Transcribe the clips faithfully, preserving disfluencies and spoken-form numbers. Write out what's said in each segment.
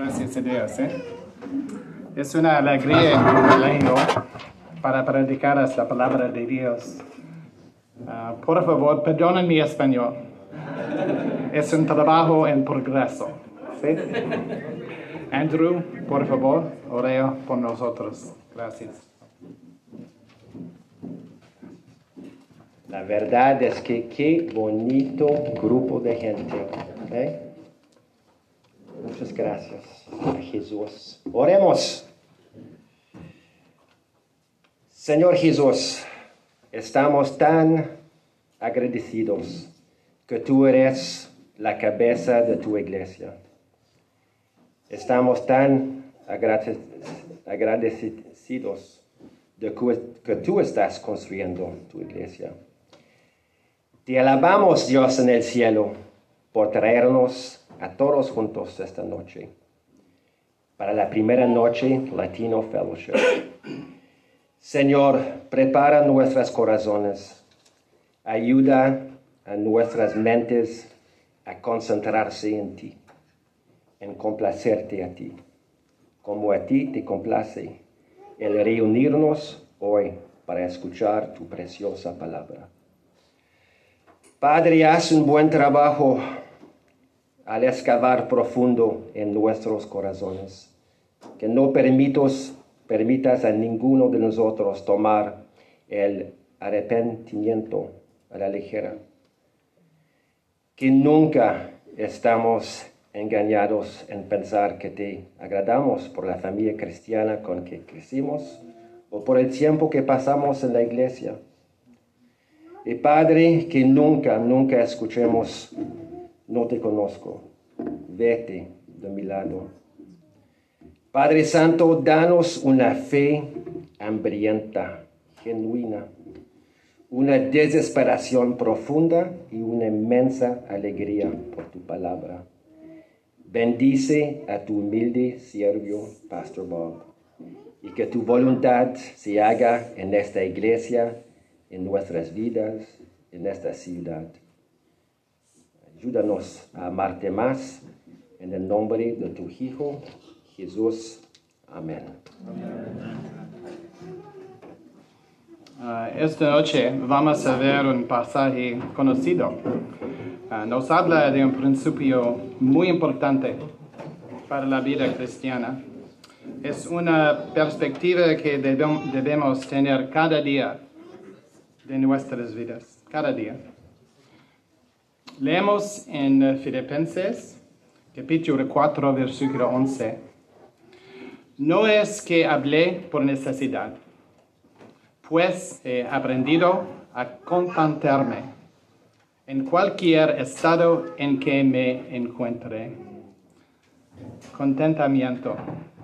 Gracias a Dios. ¿eh? Es una alegría leerlo para predicar la palabra de Dios. Uh, por favor, perdonen mi español. Es un trabajo en progreso. ¿Sí? Andrew, por favor, ore por nosotros. Gracias. La verdad es que qué bonito grupo de gente. ¿Okay? Muchas gracias a Jesús. Oremos. Señor Jesús, estamos tan agradecidos que tú eres la cabeza de tu iglesia. Estamos tan agradecidos de que tú estás construyendo tu iglesia. Te alabamos, Dios, en el cielo por traernos a todos juntos esta noche para la primera noche Latino Fellowship. Señor, prepara nuestros corazones, ayuda a nuestras mentes a concentrarse en ti, en complacerte a ti, como a ti te complace el reunirnos hoy para escuchar tu preciosa palabra. Padre, haz un buen trabajo al excavar profundo en nuestros corazones, que no permitos, permitas a ninguno de nosotros tomar el arrepentimiento a la ligera, que nunca estamos engañados en pensar que te agradamos por la familia cristiana con que crecimos o por el tiempo que pasamos en la iglesia. Y Padre, que nunca, nunca escuchemos, no te conozco, vete de mi lado. Padre Santo, danos una fe hambrienta, genuina, una desesperación profunda y una inmensa alegría por tu palabra. Bendice a tu humilde siervo, Pastor Bob, y que tu voluntad se haga en esta iglesia, en nuestras vidas, en esta ciudad. Ayúdanos a amarte más, en el nombre de tu Hijo, Jesús. Amén. Uh, esta noche vamos a ver un pasaje conocido. Uh, nos habla de un principio muy importante para la vida cristiana. Es una perspectiva que debem- debemos tener cada día de nuestras vidas, cada día. Leemos en Filipenses, capítulo cuatro, versículo once. No es que hablé por necesidad, pues he aprendido a contentarme en cualquier estado en que me encuentre. Contentamiento.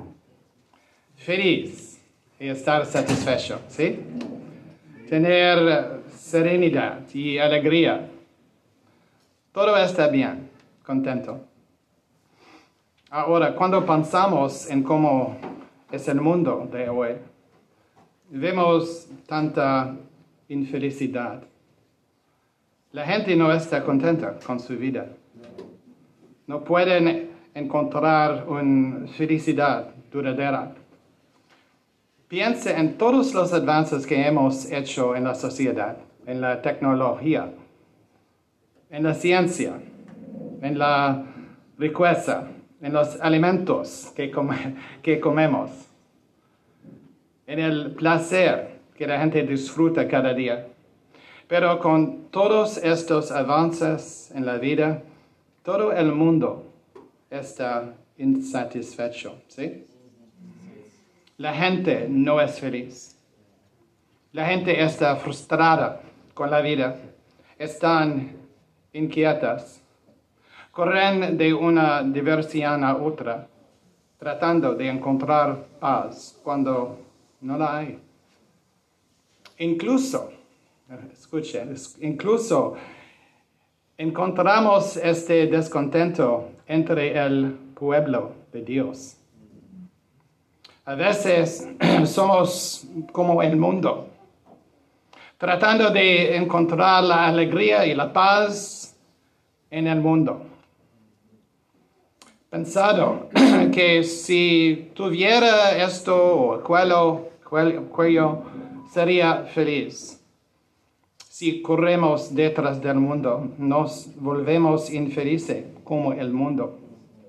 Feliz y estar satisfecho, ¿sí? Tener serenidad y alegría. Todo está bien, contento. Ahora, cuando pensamos en cómo es el mundo de hoy, vemos tanta infelicidad. La gente no está contenta con su vida. No pueden encontrar una felicidad duradera. Piensa en todos los avances que hemos hecho en la sociedad, en la tecnología, en la ciencia, en la riqueza, en los alimentos que, come, que comemos, en el placer que la gente disfruta cada día. Pero con todos estos avances en la vida, todo el mundo está insatisfecho, ¿sí? La gente no es feliz. La gente está frustrada con la vida. Están inquietas. Corren de una diversión a otra, tratando de encontrar paz cuando no la hay. Incluso, escuche, incluso encontramos este descontento entre el pueblo de Dios. A veces somos como el mundo, tratando de encontrar la alegría y la paz en el mundo. pensado que si tuviera esto o aquello, aquello, sería feliz. Si corremos detrás del mundo, nos volvemos infelices como el mundo.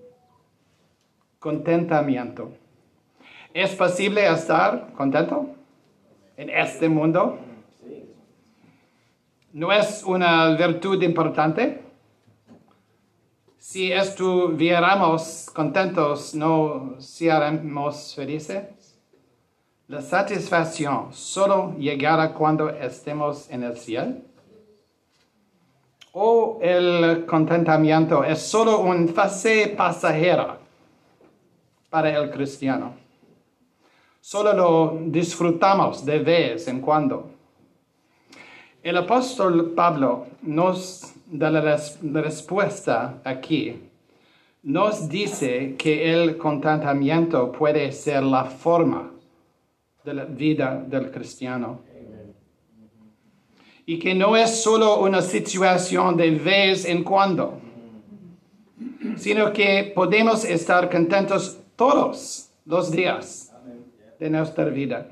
Contentamiento. ¿Es posible estar contento en este mundo? ¿No es una virtud importante? Si estuviéramos contentos, ¿no seríamos felices? La satisfacción solo llegará cuando estemos en el cielo. ¿O el contentamiento es solo una fase pasajera para el cristiano? Solo lo disfrutamos de vez en cuando. El apóstol Pablo nos da la res- respuesta aquí. Nos dice que el contentamiento puede ser la forma de la vida del cristiano. Y que no es solo una situación de vez en cuando, sino que podemos estar contentos todos los días de nuestra vida.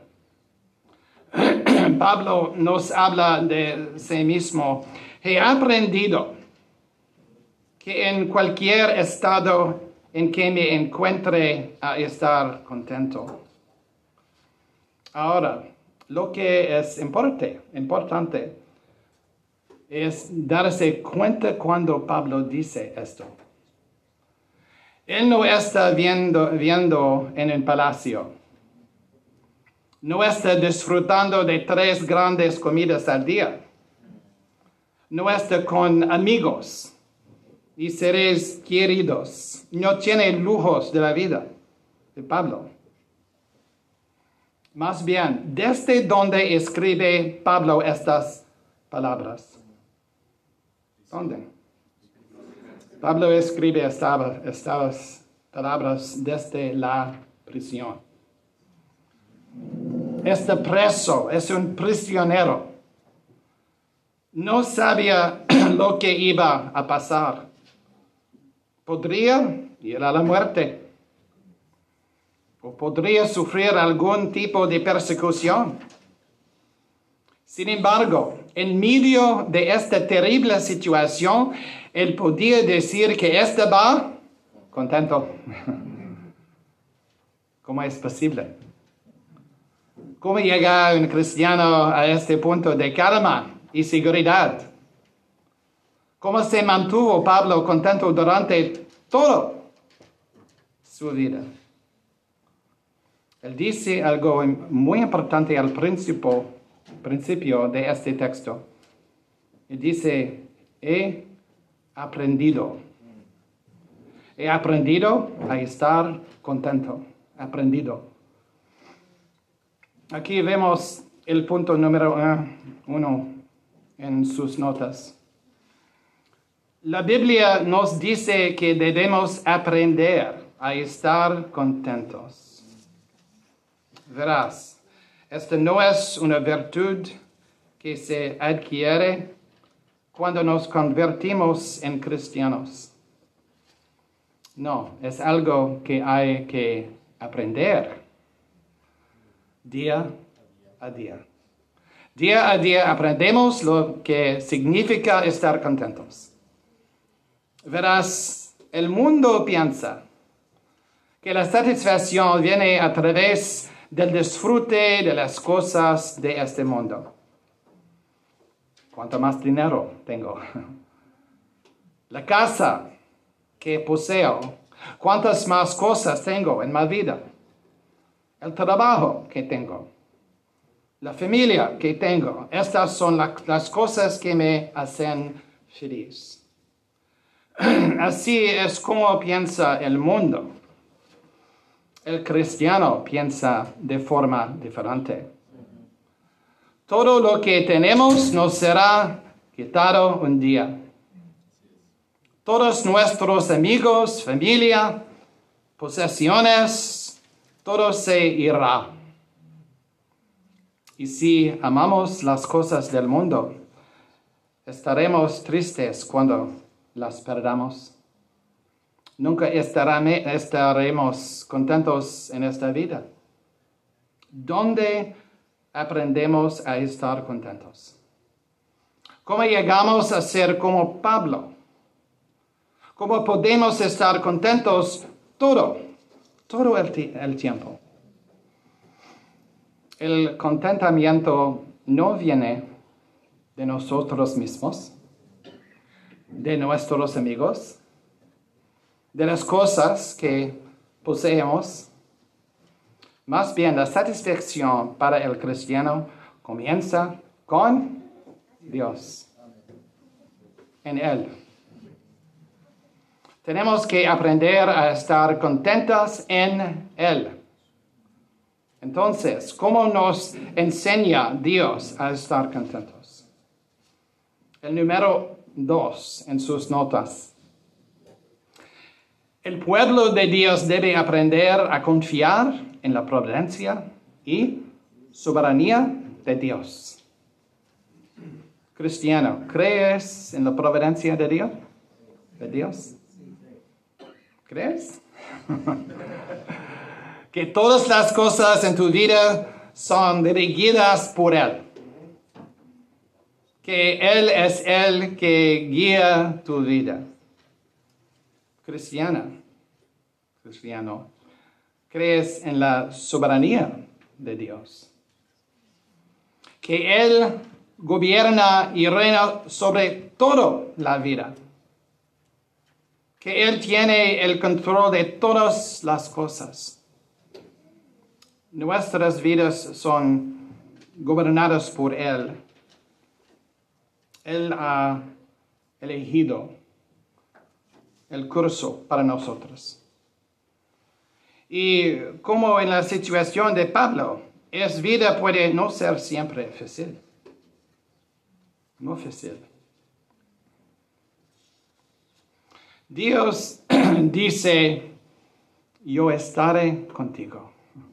Pablo nos habla de sí mismo. He aprendido que en cualquier estado en que me encuentre a estar contento. Ahora, lo que es importante, importante es darse cuenta cuando Pablo dice esto. Él no está viendo, viendo en un palacio. No está disfrutando de tres grandes comidas al día. No está con amigos y seres queridos. No tiene lujos de la vida de Pablo. Más bien, desde donde escribe Pablo estas palabras. ¿Dónde? Pablo escribe estas, estas palabras desde la prisión. Este preso es un prisionero. No sabía lo que iba a pasar. Podría ir a la muerte. O podría sufrir algún tipo de persecución. Sin embargo, en medio de esta terrible situación, él podía decir que estaba contento. ¿Cómo es posible? ¿Cómo llega un cristiano a este punto de calma y seguridad? ¿Cómo se mantuvo Pablo contento durante toda su vida? Él dice algo muy importante al principio, principio de este texto. Él dice, he aprendido. He aprendido a estar contento. Aprendido. Aquí vemos el punto número uno en sus notas. La Biblia nos dice que debemos aprender a estar contentos. Verás, esta no es una virtud que se adquiere cuando nos convertimos en cristianos. No, es algo que hay que aprender. Día a día. Día a día aprendemos lo que significa estar contentos. Verás, el mundo piensa que la satisfacción viene a través del disfrute de las cosas de este mundo. ¿Cuánto más dinero tengo? La casa que poseo. ¿Cuántas más cosas tengo en mi vida? El trabajo que tengo, la familia que tengo, estas son la, las cosas que me hacen feliz. Así es como piensa el mundo. El cristiano piensa de forma diferente. Todo lo que tenemos nos será quitado un día. Todos nuestros amigos, familia, posesiones, todo se irá. Y si amamos las cosas del mundo, estaremos tristes cuando las perdamos. nunca estará- estaremos contentos en esta vida. ¿Dónde aprendemos a estar contentos? ¿Cómo llegamos a ser como Pablo? ¿Cómo podemos estar contentos todo, todo el, ti- el tiempo? El contentamiento no viene de nosotros mismos, de nuestros amigos, de las cosas que poseemos. Más bien, la satisfacción para el cristiano comienza con Dios, en Él. Tenemos que aprender a estar contentos en Él. Entonces, ¿cómo nos enseña Dios a estar contentos? El número dos en sus notas. El pueblo de Dios debe aprender a confiar en la providencia y soberanía de Dios. Cristiano, ¿crees en la providencia de Dios? ¿De Dios? ¿Crees? Que todas las cosas en tu vida son dirigidas por Él. Que Él es el que guía tu vida. Cristiana, cristiano, ¿crees en la soberanía de Dios? Que Él gobierna y reina sobre toda la vida. Que Él tiene el control de todas las cosas. Nuestras vidas son gobernadas por Él. Él ha elegido el curso para nosotros. Y como en la situación de Pablo, esa vida puede no ser siempre fácil. No fácil. Dios dice, yo estaré contigo.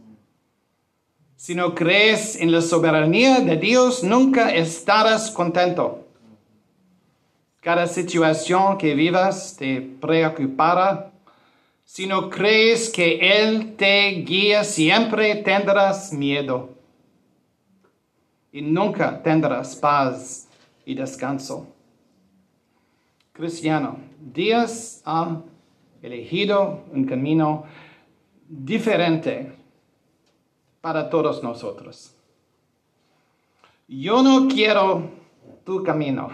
Si no crees en la soberanía de Dios, nunca estarás contento. Cada situación que vivas te preocupará. Si no crees que Él te guía, siempre tendrás miedo. Y nunca tendrás paz y descanso. Cristiano, Dios ha elegido un camino diferente para todos nosotros. Yo no quiero tu camino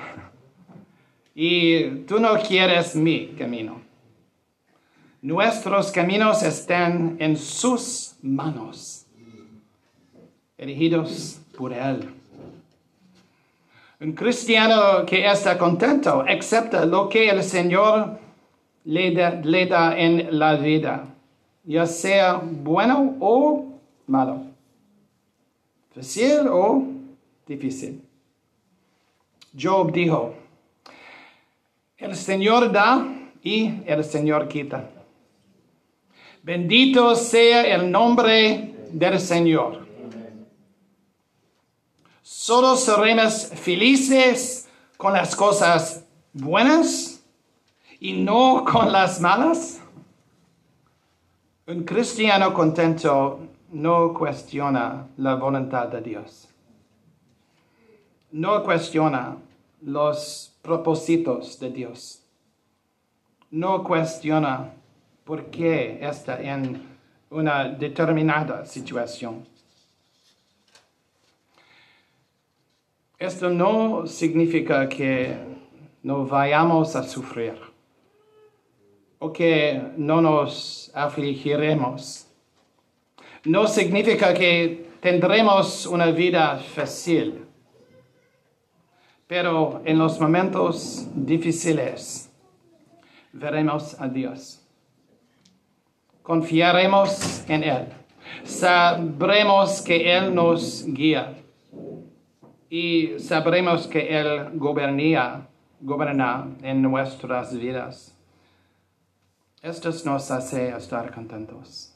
y tú no quieres mi camino. Nuestros caminos están en sus manos, elegidos por Él. Un cristiano que está contento acepta lo que el Señor le da, le da en la vida, ya sea bueno o malo, fácil o difícil. Job dijo, el Señor da y el Señor quita. Bendito sea el nombre del Señor. ¿Solo seremos felices con las cosas buenas y no con las malas? Un cristiano contento no cuestiona la voluntad de Dios. No cuestiona los propósitos de Dios. No cuestiona por qué está en una determinada situación. Esto no significa que no vayamos a sufrir o que no nos afligiremos. No significa que tendremos una vida fácil, pero en los momentos difíciles veremos a Dios. Confiaremos en Él. Sabremos que Él nos guía. Y sabremos que Él gobierna, gobierna en nuestras vidas. Esto nos hace estar contentos.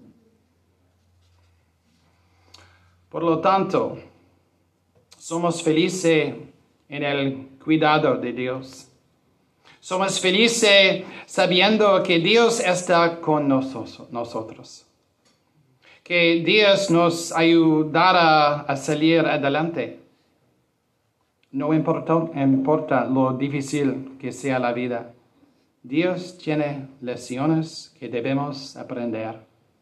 Por lo tanto, somos felices en el cuidado de Dios. Somos felices sabiendo que Dios está con nosotros, que Dios nos ayudará a salir adelante. No importa, importa lo difícil que sea la vida, Dios tiene lecciones que debemos aprender.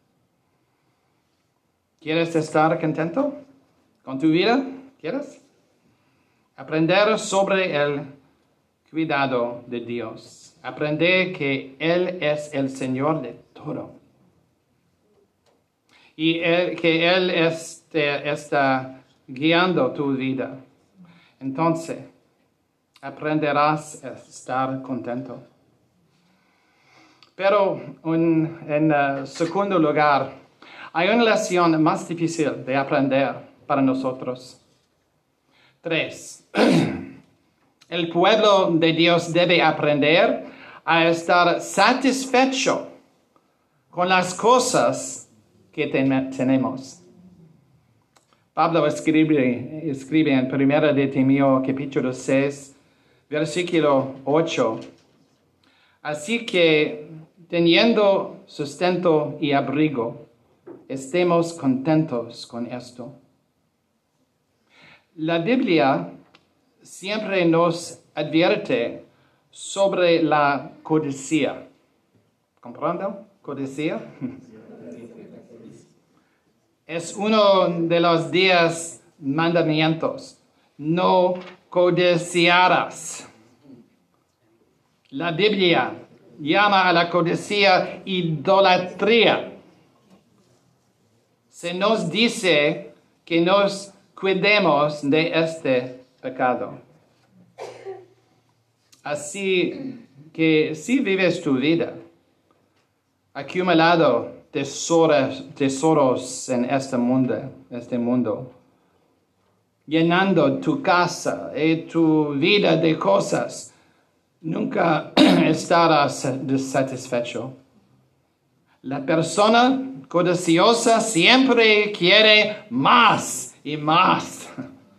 ¿Quieres estar contento con tu vida? ¿Quieres? Aprender sobre el cuidado de Dios. Aprender que Él es el Señor de todo. Y él, que Él este, está guiando tu vida. Entonces, aprenderás a estar contento. Pero un, en uh, segundo lugar, hay una lección más difícil de aprender para nosotros. Tres. El pueblo de Dios debe aprender a estar satisfecho con las cosas que ten- tenemos. Pablo escribe, escribe en primera de Timoteo capítulo seis, versículo ocho. Así que, teniendo sustento y abrigo, estemos contentos con esto. La Biblia siempre nos advierte sobre la codicia. ¿Comprendo? Codicia. Es uno de los diez mandamientos. No codiciarás. La Biblia llama a la codicia idolatría. Se nos dice que nos cuidemos de este pecado. Así que si vives tu vida acumulado tesoros, tesoros en este mundo, este mundo, llenando tu casa y tu vida de cosas, nunca estarás satisfecho. La persona codiciosa siempre quiere más y más.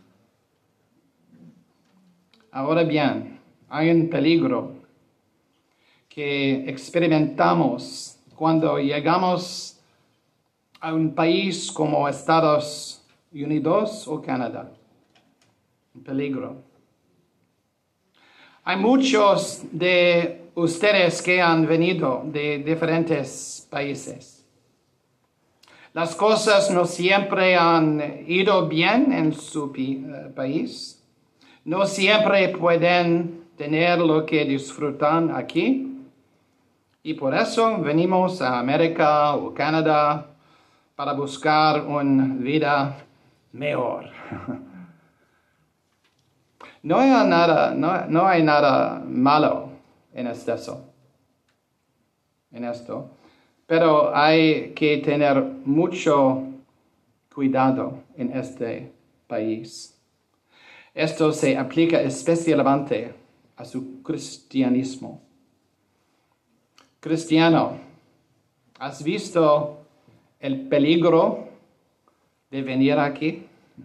Ahora bien, hay un peligro que experimentamos cuando llegamos a un país como Estados Unidos o Canadá. Un peligro. Hay muchos de ustedes que han venido de diferentes países. Las cosas no siempre han ido bien en su país. No siempre pueden tener lo que disfrutan aquí. Y por eso venimos a América o Canadá para buscar una vida mejor. No hay nada, no, no hay nada malo en esto, en esto, pero hay que tener mucho cuidado en este país. Esto se aplica especialmente a su cristianismo. Cristiano, ¿has visto el peligro de venir aquí?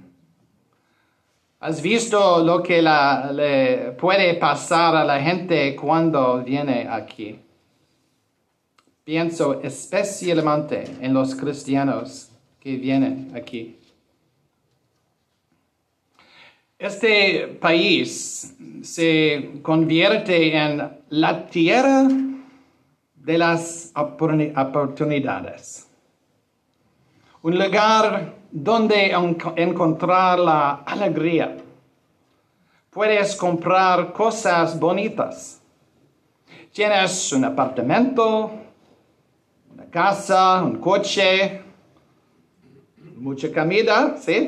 ¿Has visto lo que la, le puede pasar a la gente cuando viene aquí? Pienso especialmente en los cristianos que vienen aquí. Este país se convierte en la tierra de las oportunidades. Un lugar donde encontrar la alegría. Puedes comprar cosas bonitas. Tienes un apartamento, una casa, un coche, mucha comida, ¿sí?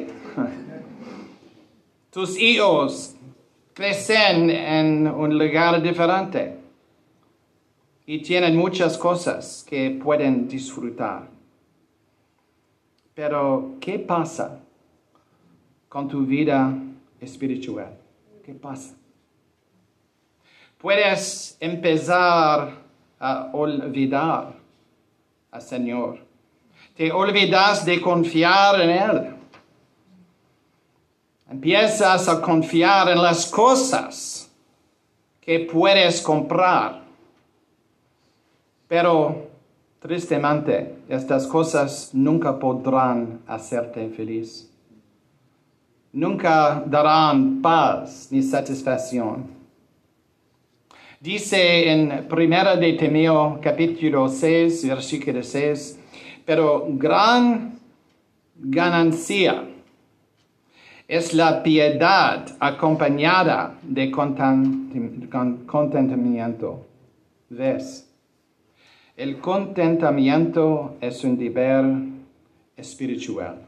Tus hijos crecen en un lugar diferente y tienen muchas cosas que pueden disfrutar. Pero, ¿qué pasa con tu vida espiritual? ¿Qué pasa? Puedes empezar a olvidar al Señor. Te olvidas de confiar en Él. Empiezas a confiar en las cosas que puedes comprar. Pero, tristemente, estas cosas nunca podrán hacerte feliz. Nunca darán paz ni satisfacción. Dice en Primera de Timoteo, capítulo seis, versículo seis, pero gran ganancia es la piedad acompañada de contentamiento. ¿Ves? El contentamiento es un deber espiritual.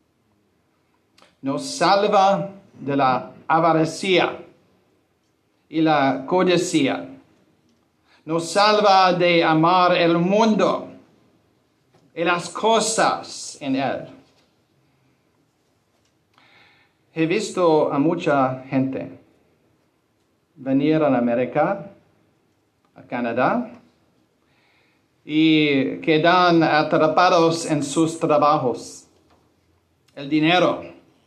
Nos salva de la avaricia y la codicia. Nos salva de amar el mundo y las cosas en él. He visto a mucha gente venir a América, a Canadá, y quedan atrapados en sus trabajos, el dinero,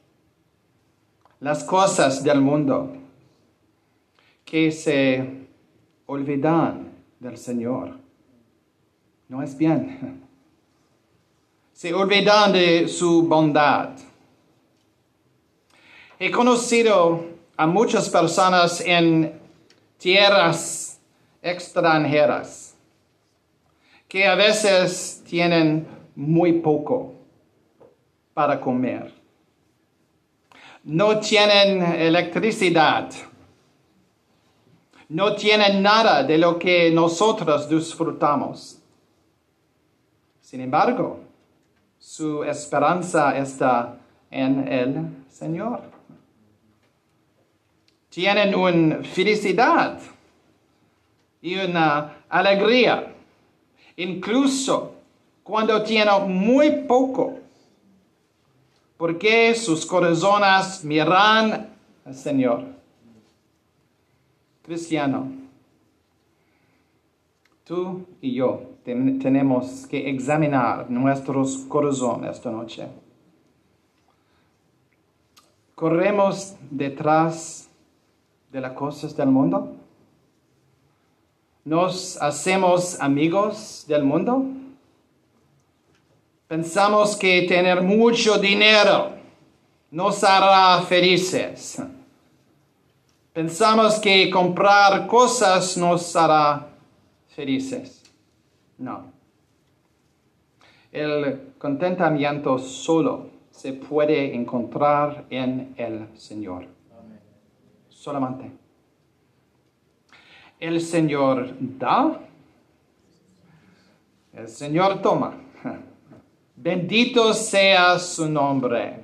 las cosas del mundo, que se olvidan del Señor. No es bien. Se olvidan de su bondad. He conocido a muchas personas en tierras extranjeras que a veces tienen muy poco para comer. No tienen electricidad. No tienen nada de lo que nosotros disfrutamos. Sin embargo, su esperanza está en el Señor. Tienen una felicidad y una alegría, incluso cuando tienen muy poco, porque sus corazones miran al Señor. Cristiano, tú y yo ten- tenemos que examinar nuestros corazones esta noche. ¿Corremos detrás de las cosas del mundo? ¿Nos hacemos amigos del mundo? Pensamos que tener mucho dinero nos hará felices. Pensamos que comprar cosas nos hará felices. No. El contentamiento solo se puede encontrar en el Señor. Amén. Solamente. El Señor da, el Señor toma. Bendito sea su nombre.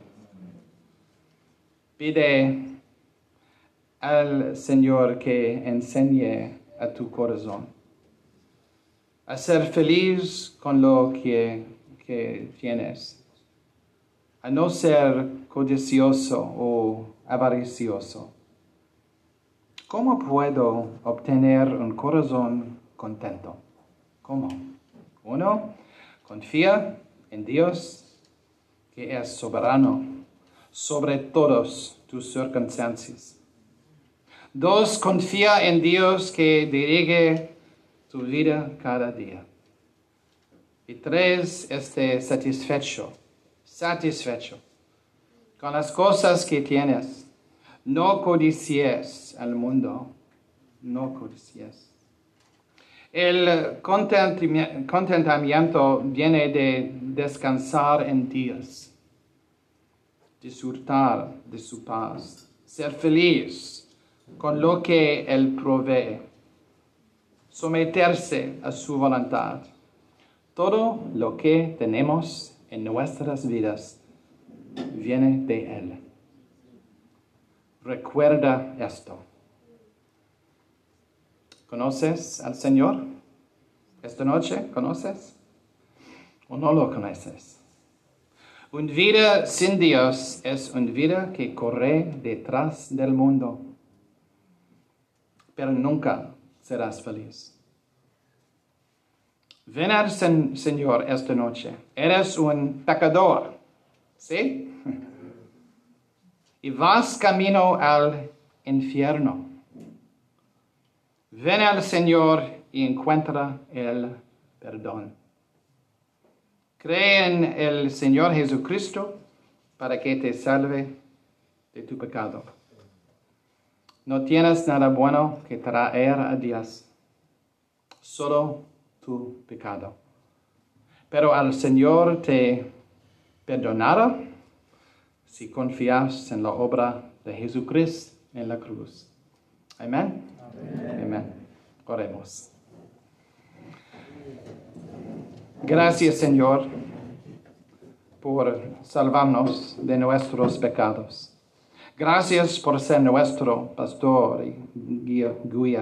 Pide al Señor que enseñe a tu corazón a ser feliz con lo que, que tienes, a no ser codicioso o avaricioso. ¿Cómo puedo obtener un corazón contento? ¿Cómo? Uno, confía en Dios, que es soberano sobre todas tus circunstancias. Dos, confía en Dios que dirige tu vida cada día. Y tres, esté satisfecho, satisfecho con las cosas que tienes. No codicies al mundo, no codicies. El contentamiento viene de descansar en Dios, disfrutar de su paz, ser feliz con lo que Él provee, someterse a su voluntad. Todo lo que tenemos en nuestras vidas viene de Él. Recuerda esto. ¿Conoces al Señor? Esta noche, ¿conoces? ¿O no lo conoces? Una vida sin Dios es una vida que corre detrás del mundo, pero nunca serás feliz. Ven al sen- Señor esta noche. Eres un pecador, ¿sí? Y vas camino al infierno. Ven al Señor y encuentra el perdón. Cree en el Señor Jesucristo para que te salve de tu pecado. No tienes nada bueno que traer a Dios, solo tu pecado. Pero al Señor te perdonará si confías en la obra de Jesucristo en la cruz. Amén. Amén. Amén. Oremos. Gracias, Señor, por salvarnos de nuestros pecados. Gracias por ser nuestro pastor y guía. guía.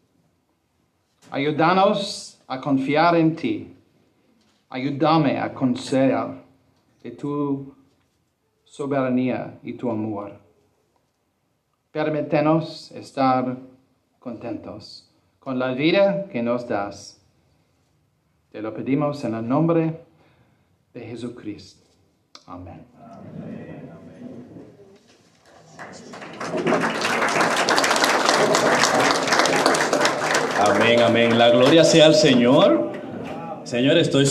Ayúdanos a confiar en ti. Ayúdame a conocer de tu soberanía y tu amor. Permítenos estar contentos con la vida que nos das. Te lo pedimos en el nombre de Jesucristo. Amén. Amén. Amén, amén. La gloria sea al Señor. Señor, estoy